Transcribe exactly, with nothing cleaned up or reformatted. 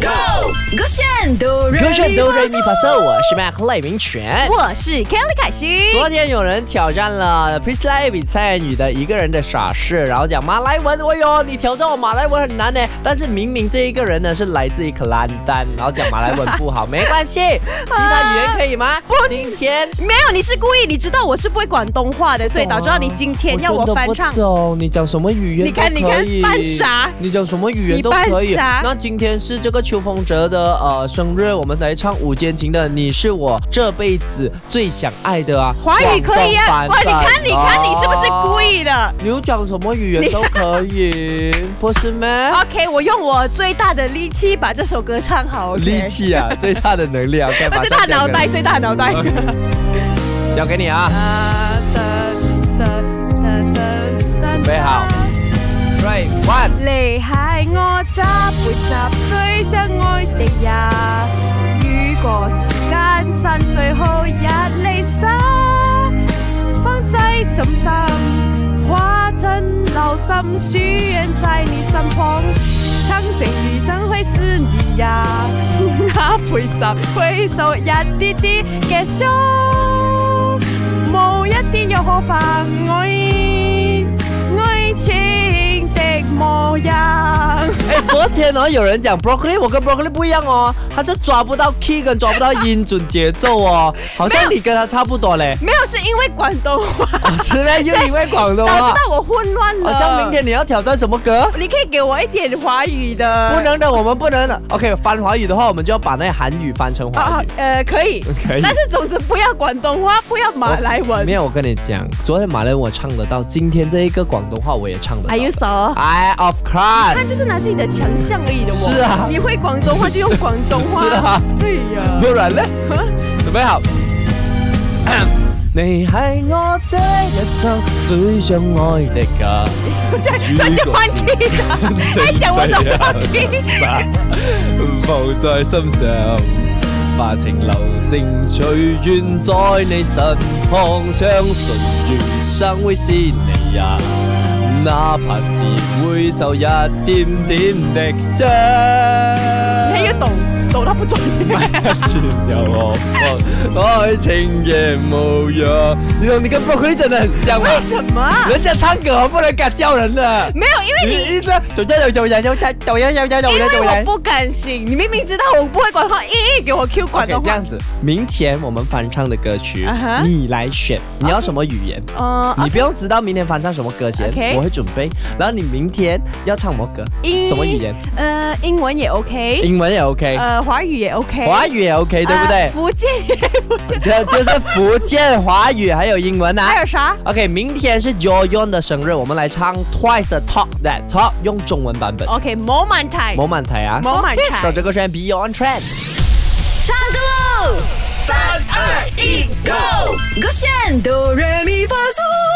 Go 炫哆瑞咪发嗦，我是 Mac 赖明全， 我是 Kelly 凯西。 昨天有人挑战了 Priscilla 比蔡女的一个人的傻事，然后讲马来文，哎呦，你挑战我马来文很难呢。但是明明这一个人呢是来自于克兰丹，然后讲马来文不好，没关系，其他语言可以吗？今天没有，你是故意，你知道我是不会广东话的，所以导致到你今天要我翻唱。 我真的不懂，你讲什么语言都可以。 你看，你看，扮傻， 你讲什么语言都可以。那今天是这个邱风哲的呃生日，我们来唱五间情的《你是我这辈子最想爱的》啊。 华语可以啊，哇，你看，你看，你是不是故意的？ 你有讲什么语言都可以，不是吗 ？OK， 我用我最大的力气把这首歌唱好。Okay? 力气啊，最大的能量， 最大脑袋，最大脑袋。 交给你啊！准備好 ，three one。 你係我這輩子最相愛的人，如果時間剩最後一離手，放在心上，化成流心，許願在你身旁，長城旅程會是你呀，那陪十回首一啲啲嘅傷。冇一啲又何妨愛愛情的模樣。 哎，昨天呢、哦、有人講 broccoli， 我跟 broccoli 不一樣哦，他是抓不到 key 跟抓不到音準節奏哦，好像你跟他差不多嘞。 沒有，是因為廣東話。 哦、是咩？又因為廣東話。 導致到我混亂了。 哦，這樣明天你要挑戰什麼歌？ 你可以給我一點華語的。 不能的，我們不能的。OK， 翻華語的話，我們就要把那韓語翻成華語。啊、 呃，可以，可以。但是總之不要廣東話，不要馬來文。 沒有，我跟你講，昨天馬來文我唱得到，今天這一個廣東話我也唱得到。 Are you so? I of course。 他就是拿自己的強項而已的我。 是啊。 你會廣東話就用廣東話。 是啊。 哎呀。 不然呢？準備好。你係我這一生最想愛的人。 他就換 key 了，他講我就換 key。 放在心上，化情流星，隨緣在你身旁，相信餘生會是你呀，哪怕是會受一點點的傷。 你還要懂。抖他不准前有我愛情也模樣，你你跟 broccoli 真的很像嗎？ 為什麼？ 人家唱歌不能敢叫人的。 沒有，因為你你一直抖抖抖抖抖抖抖抖抖抖， 因為我不敢信，你明明知道我不會廣東話，一一給我 Q 廣東話。 這樣子，明天我們翻唱的歌曲， uh-huh. 你來選，你要什麼語言？哦， uh, okay. 你不用知道明天翻唱什麼歌先， okay. 我會準備。然後你明天要唱什麼歌？什麼語言？ 呃，英文也 OK， 英文也 OK， 呃，華語也 OK， 華語也 OK， 對不對？ 呃、福建也福建， 就就是福建華語還有英文啊。 還有啥 ？OK， 明天是 Joyon 的生日，我們來唱 Twice 的 Talk That Talk， 用中文版本。 OK， 冇問題， 冇問題啊， 冇問題。 首這個是 Beyond Trend， 唱歌嘍！三二一，Go！ Go 炫哆瑞咪發嗦。